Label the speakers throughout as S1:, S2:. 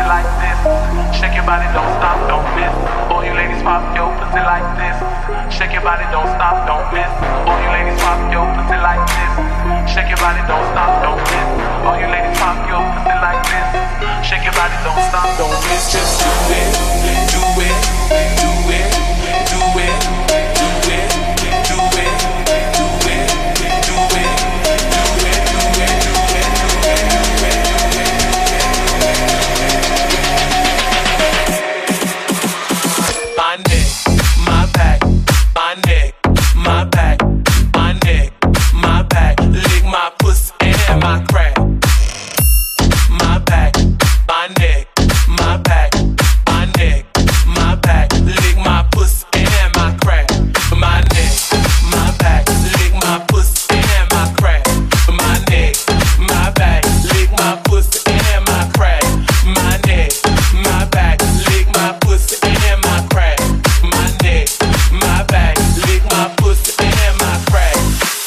S1: like this. Shake your body, don't stop, don't miss. All you ladies pop your pussy like this. Shake your body, don't stop, don't miss. All you ladies pop your pussy like this. Shake your body, don't stop, don't miss. All you ladies pop your pussy like this. Shake your body, don't stop, don't miss. Just do it, do it, do it, do it, do it, do it, do it, do it, do it. My neck, my back, my neck, my back, my neck, my back. Lick my pussy and my crack. My back, my neck, my back, my neck, my back. Lick my pussy and my crack. My neck, my back, lick my pussy and my crack. My neck, my back, lick my pussy and my crack. My neck, my back, lick my pussy and my crack. My neck, my back, lick my pussy and my crack.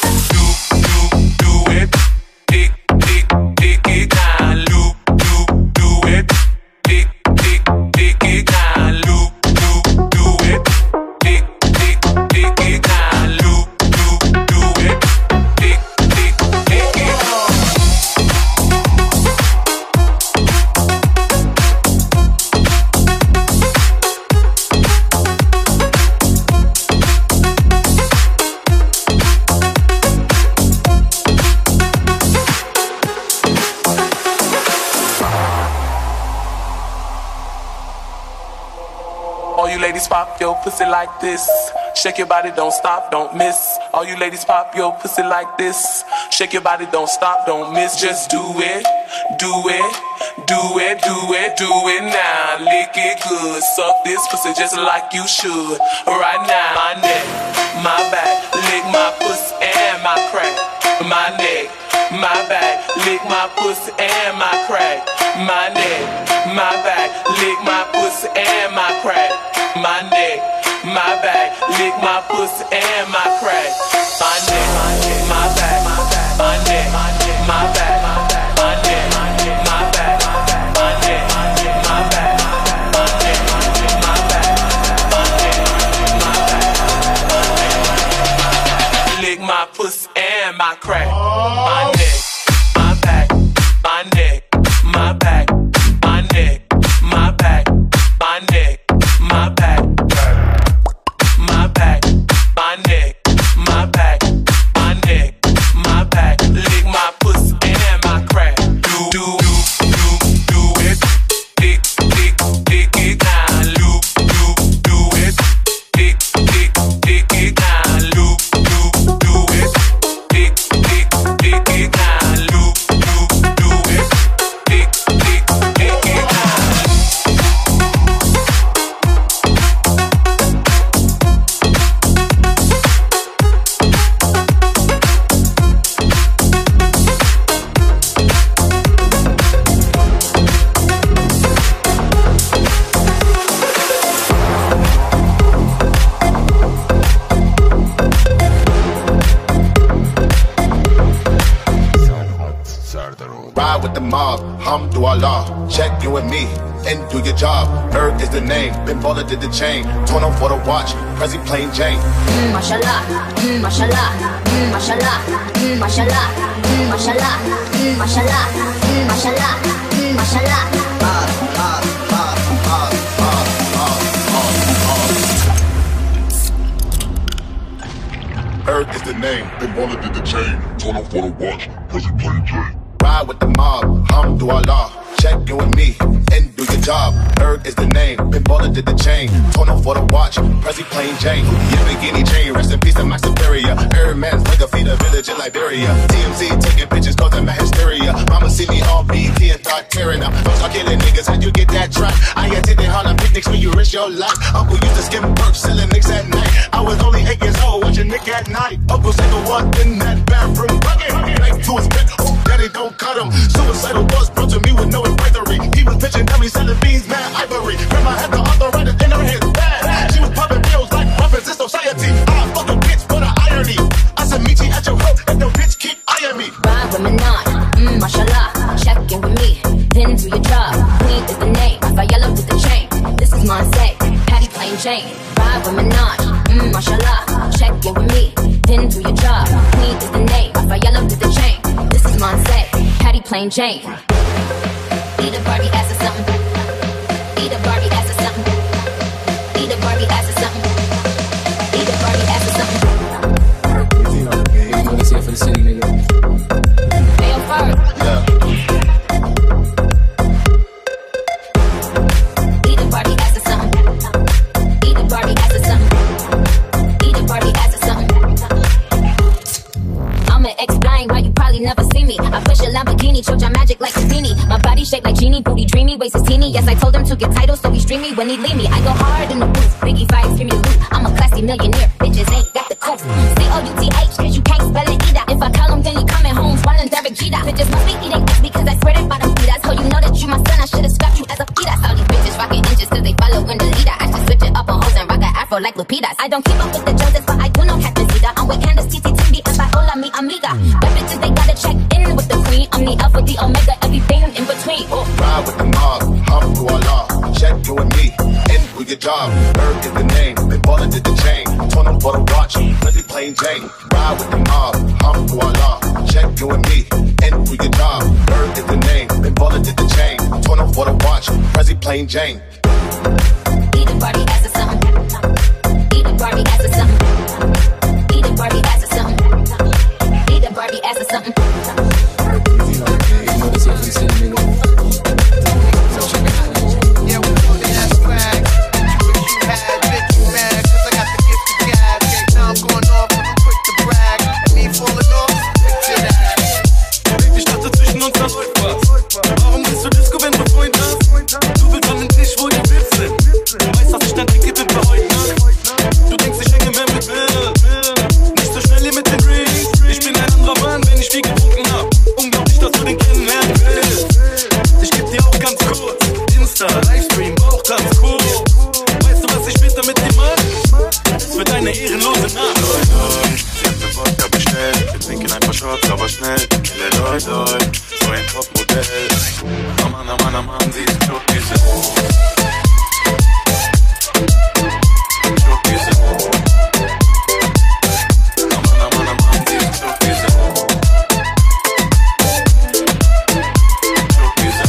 S1: Do it, dick it down, loop, do it, dick it down, loop, do it, dick it down, loop, do it, dick it. All you ladies pop your pussy like this. Shake your body, don't stop, don't miss. All you ladies pop your pussy like this. Shake your body, don't stop, don't miss. Just do it, do it, do it, do it, do it now. Lick it good, suck this pussy just like you should. Right now, my neck, my back, lick my pussy and my crack. My neck, my back, lick my pussy and my crack. My neck, my back, lick my pussy and my crack. My neck, my back, lick my pussy and my crack. My neck, my back, my neck, my back, my neck, my back, my neck, my back, my neck, my back, my neck, my back. Lick my pussy and my crack. My neck, my back, my neck, my back, my neck, my back, my neck, my back, my back, my neck, my back, my neck, my back. Lick my pussy and my crack. Do it, dick it down, loop, do it, dick it down, loop, do it, dick it down, loop, do it, dick it down.
S2: Ride with the mob, hamdulillah. Check you and me and do your job. Erg is the name, Ben Baller did the chain. Torn on for the watch, Prezi plain Jane.
S3: Mashallah, mashallah, mashallah, mashallah, mashallah, mashallah, mashallah, mashallah.
S2: Erg is the name, Ben Baller did the chain. Torn on for the watch, Prezi plain Jane. Ride with the mob, hamdulillah. Check you and me and do your job. Erg is the name, Ben Baller did the chain. Torn on for the watch, Prezi plain Jane. Yamagini chain, rest in peace to my superior. Erg man's like a feed a village in Liberia. TMZ taking pictures, causing my hysteria. Mama see me on BT and start tearing up. Don't start killing niggas, how'd you get that track? I attended Harlem picnics when you risk your life. Uncle used to skim perks, selling nicks at night. I was only 8 years old, watching Nick at night. Uncle said the one in that bathroom bucket. Knife to his neck, oh daddy don't cut him. Suicidal thoughts brought to me with no advisory. He was pitching dummy, selling beans, mad ivory. Grandma had the arthritis in her hands, bad. She was popping pills like weapons in society. I fuck a bitch for the irony. I said meet you at your house, and the bitch keep eyeing me.
S3: Ride with Manon, mashallah. Check in with me, then do your job. Queen is the name. Jane. Ride with Minaj, mashallah. Check in with me, then do your job. Queen is the name, Rafaela did the chain. This is Monse, Patty Plain Jane. Eat a Barbie ass or something. Eat a Barbie ass or something. Eat a Barbie ass or something. Eat a Barbie ass or something.
S4: You know this here for the city, nigga.
S3: Hey, yo, first.
S2: Yeah.
S3: Eat a Barbie ass or something. Eat a Barbie ass or something. Eat a Barbie ass or something. I'ma explain why you probably never see me. I push a Lamborghini, choke your magic like Houdini. My body shaped like genie, booty dreamy, waist is teeny. Yes, I told him to get titles, so he stream me when he leave me. I go hard in the booth, Biggie vibes, give me the loot. I'm a classy millionaire, bitches ain't got the couth. C-O-U-T-H, cause you can't spell it either. If I call him, then he coming home, swallowing Derek Jeter. Bitches must be eating X because I swear they bottom feeders. So you know that you my son, I should've scrapped you as a fetus. All these bitches rocking inches cause they following the leader. I should switch it up on hoes and rock an afro like Lupitas. I don't keep up with the Joneses, but I do know Captain Zeta. I'm with Candace, TT, Timby, and Viola, mi amiga. But bitches, they gotta check in with the queen. I'm the alpha, the omega, everything in between. Oh.
S2: Ride with the mob, hum to Allah. Check you and me, and do your job. Bird is the name, been ballin' did the chain. Turn on for the watch, Pretty Plain Jane. Ride with the mob, hum to Allah. Check you and me, and do your job. Bird is the name, been ballin' did the chain. Turn on for the watch, Pretty Plain Jane.
S3: Eat a Barbie ass or something. Eat a Barbie ass or something. Eat a Barbie ass or something. Eat a Barbie ass or something.
S4: You know this here for the city, nigga.
S5: Yeah, we know that swag. Wish you had, bitch, you mad, cause I got the gift of gab. Okay, now I'm going off and I'm quick to brag. And me falling off, picture that.
S1: Ich dachte, zwischen uns da läuft was. Warum gehst du Disco, wenn du Freund hast? Du willst an den Tisch, wo die Vips sind. Du weißt, dass ich dein Ticket bin für heute Nacht. Du denkst, ich hänge mehr mit Bill. Nicht so schnell hier mit den Drinks. Ich bin ein anderer Mann, wenn ich viel getrunken hab. Unglaublich, dass du den kennenlernen willst. Ich geb dir auch ganz kurz Insta, Livestream, auch ganz cool. Weißt du, was ich später mit dir mach? Es wird eine ehrenlose Nacht.
S6: Sie hat ne Wodka bestellt. Wir trinken ein paar Shots, aber schnell. Leute, so ein Topmodell. Mann, sie ist Schokküsse. Schokküsse. Mann, sie ist Schokküsse. Schokküsse.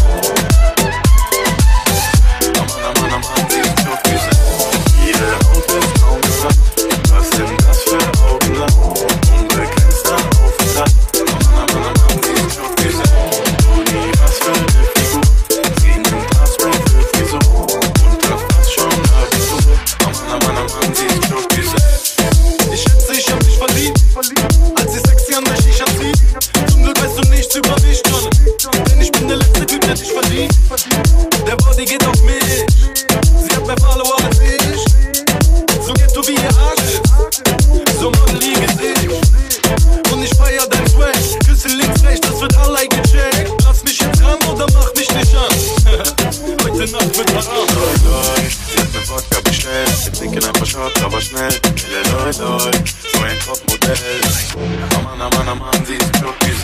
S6: Mann, sie ist Schokküsse. Ihre Haut ist braun. Was denn das für Augen lang? Unbegrenzter Aufenthalt. Mann, sie ist Schokküsse. Uni, was für eine Figur. Sie nimmt Haarspray für Frisur. Und das passt schon Abitur. Mann, sie ist Schokküsse.
S1: Ich schätze, ich hab dich verliebt, als sie sexy an der Shisha zieht. Zum Glück weißt du nichts über mich, John. Denn ich bin der letzte Typ, der dich verdient. Der Body geht auf mich. Sie hat mehr Follower als ich. So ghetto wie ihr Arsch ist. So modelige ich. Und ich feier dein Swag. Küsse links, rechts, das wird allein gecheckt. Lass mich jetzt ran oder mach mich nicht an. Heute Nacht wird haram.
S6: Sie hat ne Wodka bestellt. Wir trinken ein paar Shots, aber schnell. Leute, so ein Topmodell. Mann, sie ist Schokküsse.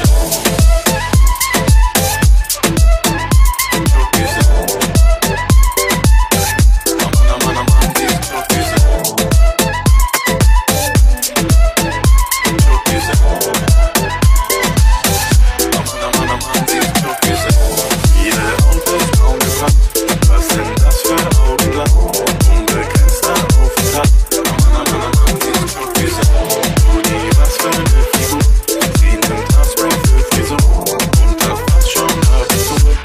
S6: Schokküsse. Mann, sie ist Schokküsse. Schokküsse. Mann, sie ist Schokküsse. Ihre Haut ist braun gebrannt. Was sind das für Augen lang? Unbegrenzter Aufenthalt. Mann, sie ist Schokküsse. Uni, was für eine Figur. Sie nimmt Haarspray für Frisur. Und das passt schon Abitur.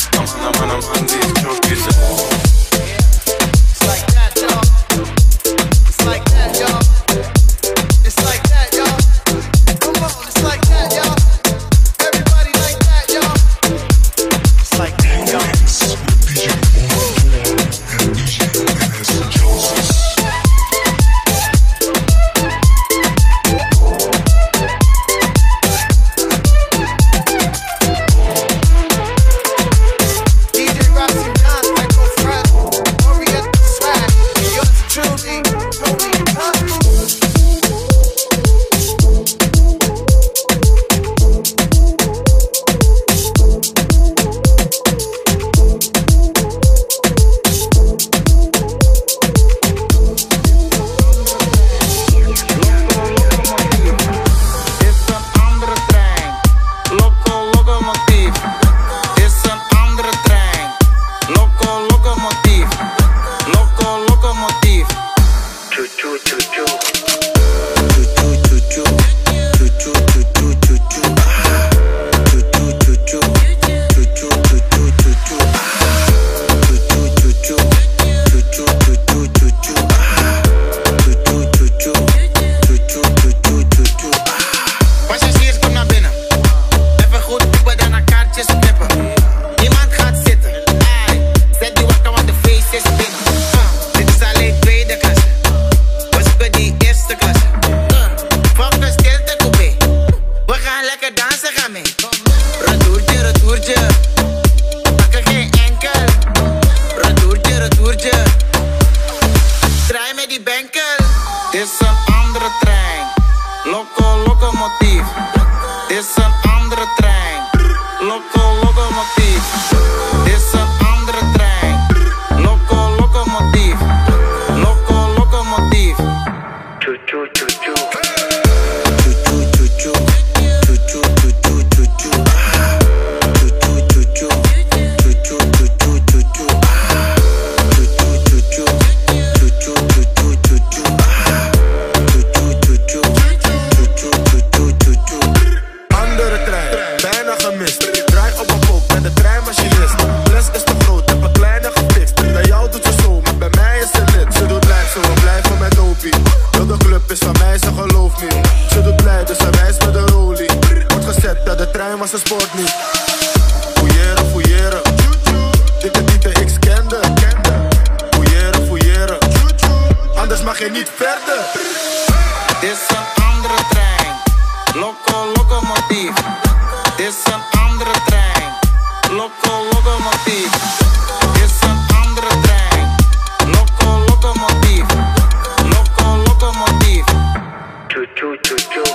S7: locomotief. Is een andere trein. Locomotief. Is een andere trein. Locomotief. Locomotief. Choo choo choo choo.
S2: Maar ze sport niet. Fouilleren, fouilleren. Dikke diepe, ik scande. Fouilleren, fouilleren. Anders mag je niet verder.
S7: Het is een andere trein. Locomotief. Het is een andere trein. Locomotief. Het is een andere trein. Locomotief. Locomotief. Choo choo choo choo.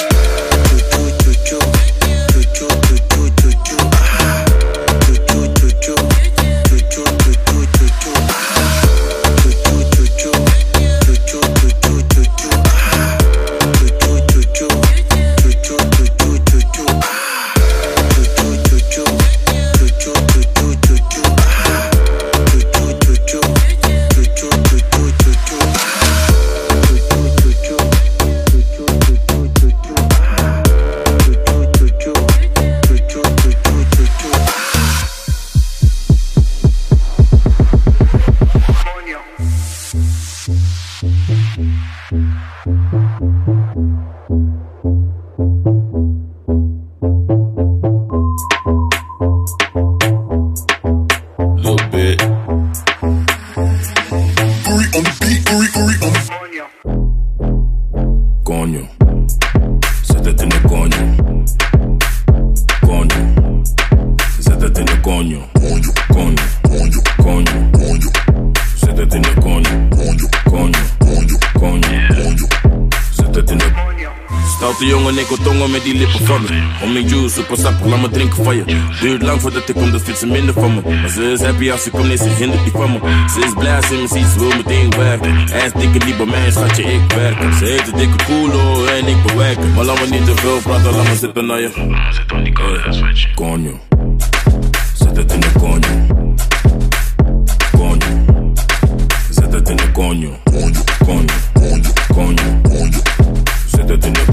S8: De jongen, ik wil tongen met die lippen van me. Om mijn juice, super sappig, laat me drinken van je. Duurt lang voordat ik kom, dus vindt ze minder van me. Maar ze is happy als ze komt, nee, ze hindert die van me. Ze is blij als ze me ziet, ze wil meteen werken. Hij is dikke niet bij mij, schatje, ik werken. Ze heeft een dikke koelo en ik bewerken. Maar laat me niet te veel praten, laat me zitten naar je. Zit op die koude, schatje. Konjo. Zet het in de konjo. Konjo. Zet het in de konjo. Konjo, konjo, konjo, konjo, konjo. Zet het in de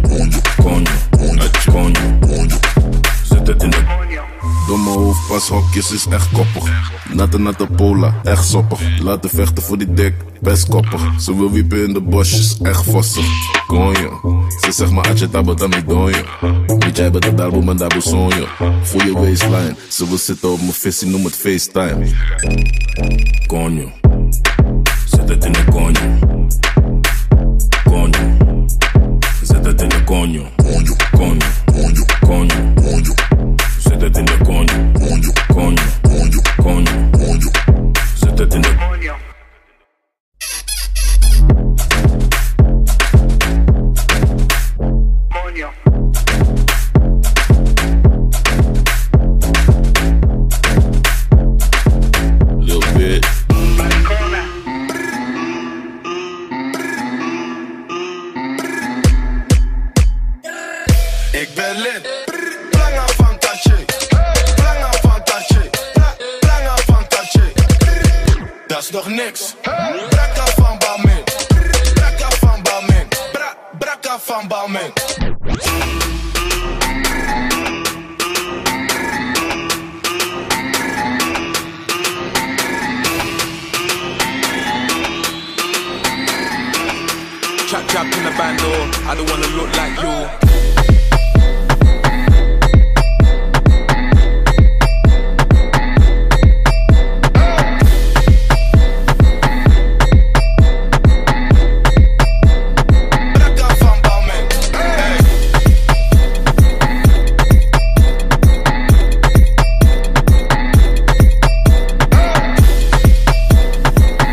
S8: konjo. Zet het in de
S2: door mijn hoofd pas hokjes is echt koppig. Natte pola, echt soppig. Laten vechten voor die dik, best koppig. Ze wil wiepen in de bosjes, echt vossig. Konjo, ze zegt maar atje tabo dan niet donjo. Niet jij bent de darbo, maar darbo sonjo. Voel je waistline, ze wil zitten op mijn visie, noem het FaceTime.
S8: Konjo, zet het in de konjo. Konjo. Zet het in de konjo. Konjo, konjo, konjo, konjo, konjo. Zet het in de konjo. Konjo, konjo, konjo, konjo, konjo. Zet het in de konjo. Little bit.
S2: Ik ben lid. Planga fantasje. Planga fantasje. Planga fantasje. Dat is nog niks. Brakka van Balmin. Brakka van Balmin. Brakka van Balmin.
S1: Chap in the bando, I don't wanna look like you.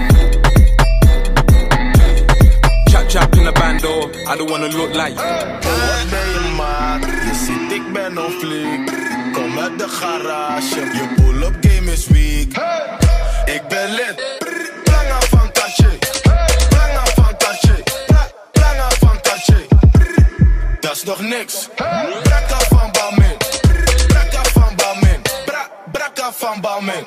S1: I don't wanna look like you.
S9: wat ben je maat? Je ziet ik ben on fleek. Kom uit de garage, je pull-up game is weak. Ik ben lid, planga van tache. Planga van tache, planga van tache. Dat is nog niks, brakka van Balmain. Brakka van Balmain, brakka van Balmain.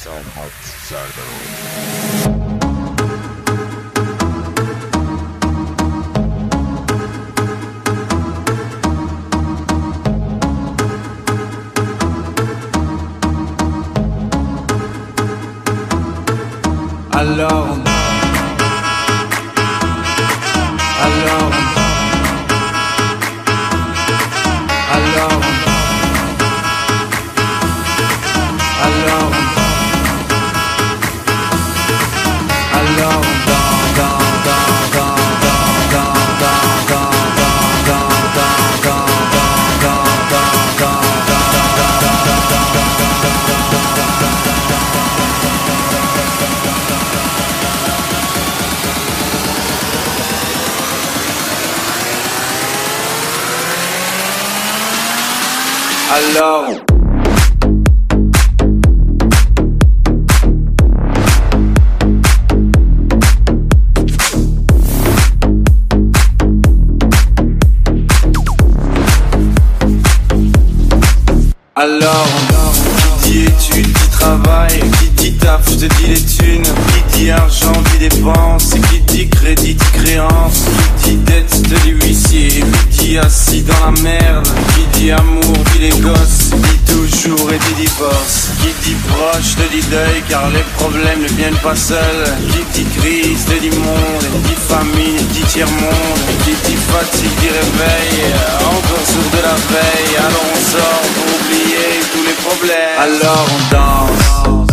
S10: Alors, qui dit études, qui travaille, qui dit taf, je te dis les thunes, qui dit argent, dit dépenses, qui dit crédit, dit créance, qui dit dette, te dit huissier, qui dit assis dans la merde, qui dit amour, dit les gosses, dit toujours et dit divorce, qui dit proche, te dit deuil, car les problèmes ne viennent pas seuls, qui dit crise, te dit monde, qui dit famine, dit tiers-monde, qui dit fatigue, dit réveil, encore sourd de la veille, alors on sort pour oublier tous les problèmes. Alors on danse,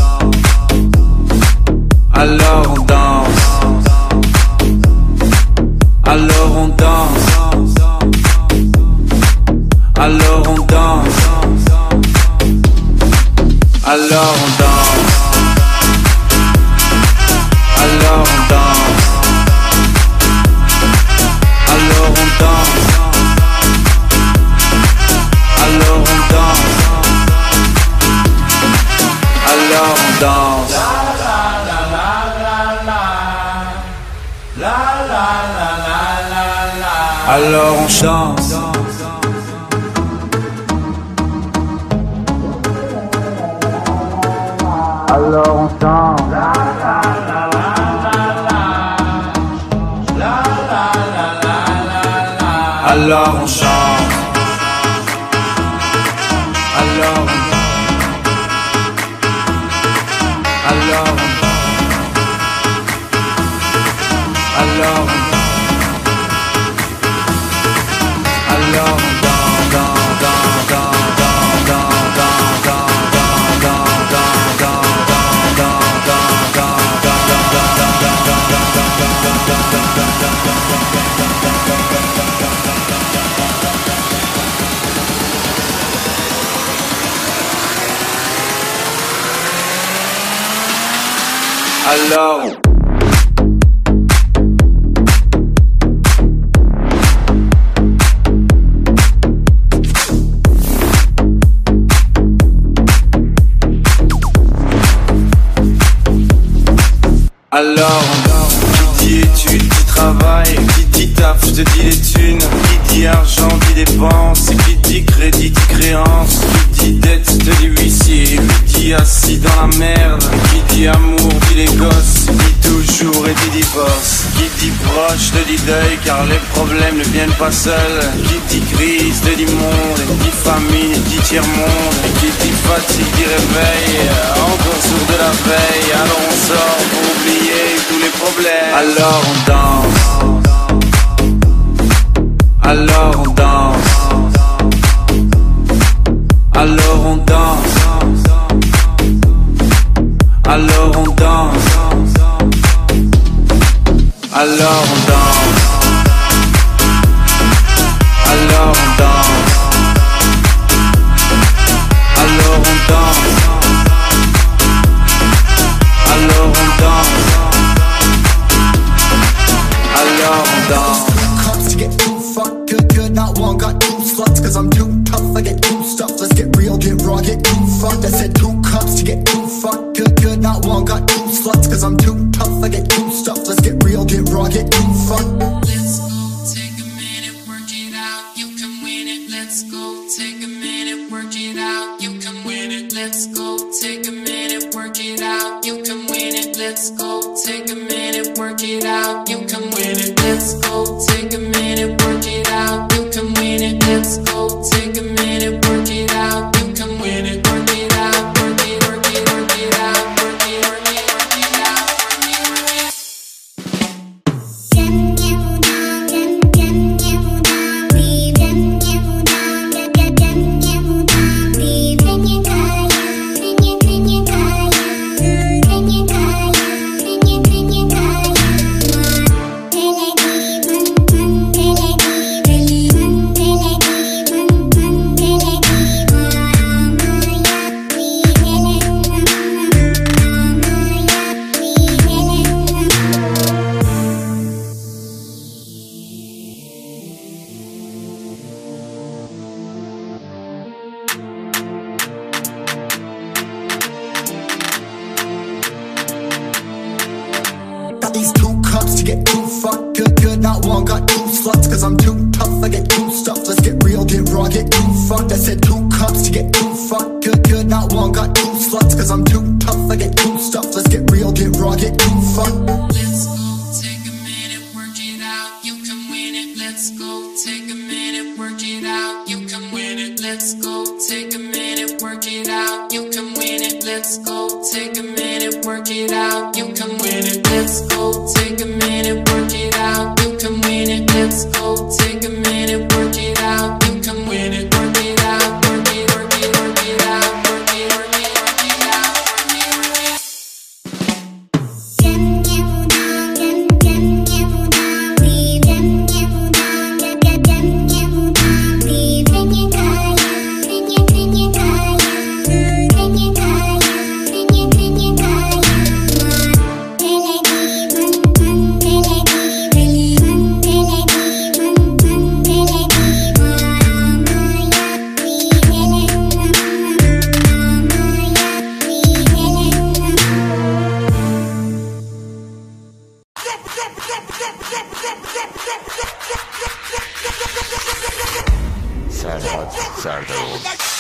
S10: alors on danse, alors on danse, alors on danse, alors on danse, alors on danse, alors on danse, alors on danse, alors on danse. Alors on chante. Alors on chante. Alors on chante. Alors qui dit études, qui travaille, qui dit taf, je te dis les thunes, qui dit argent, dit dépenses, qui dit crédit, dit créance, qui dit dette, te dit huissier, qui dit assis dans la merde, qui dit amour, dit les gosses, dit toujours et dit divorce, qui dit proche, te dit deuil, car les problèmes ne viennent pas seuls, qui dit crise, te dit monde, qui dit famine, dit tiers-monde, qui dit fatigue, dit réveil, encore sourd de la veille, alors on sort pour oublier tous les problèmes. Alors on danse, alors on danse, alors on danse, alors on danse, alors on danse, alors on danse, alors on danse, alors on danse, alors on danse.
S11: Cups to get too fucked, good, not one, got two sluts, cause I'm too tough, I get too stuff, let's get real, get raw, get too fucked, I said 2 cups to get too fucked, good, not one, got two sluts, cause I'm too tough, I get too stuff, let's get real, get raw, get too fucked.
S12: Let's go, take a minute, work it out, you can win it, let's go, take a minute, work it out, you can win it, let's go, take a minute, work it out.
S11: get too fucked. Good, not one, got two sluts. Cause I'm too tough, I get two stuff. Let's get real, get raw, get too fucked. I said 2 cups to get too fucked. Good, not one, got 2 sluts. Cause I'm too tough, I get two stuff. Let's get real, get raw, get too fucked.
S12: Let's go, take a minute, work it out. You can win it. Let's go, take a minute, work it out. You can win it. Let's go, take a minute, work it out. You can win it. Let's go, take a minute, work it out. You can win it. Let's go, take a minute, work it out. You can win it. Let's go, take a minute, work it out. You can win it. Work it out, work it, work it, work it out. Work it, work it, work it out. Work it, work it.
S13: Serhat Serdaroğlu.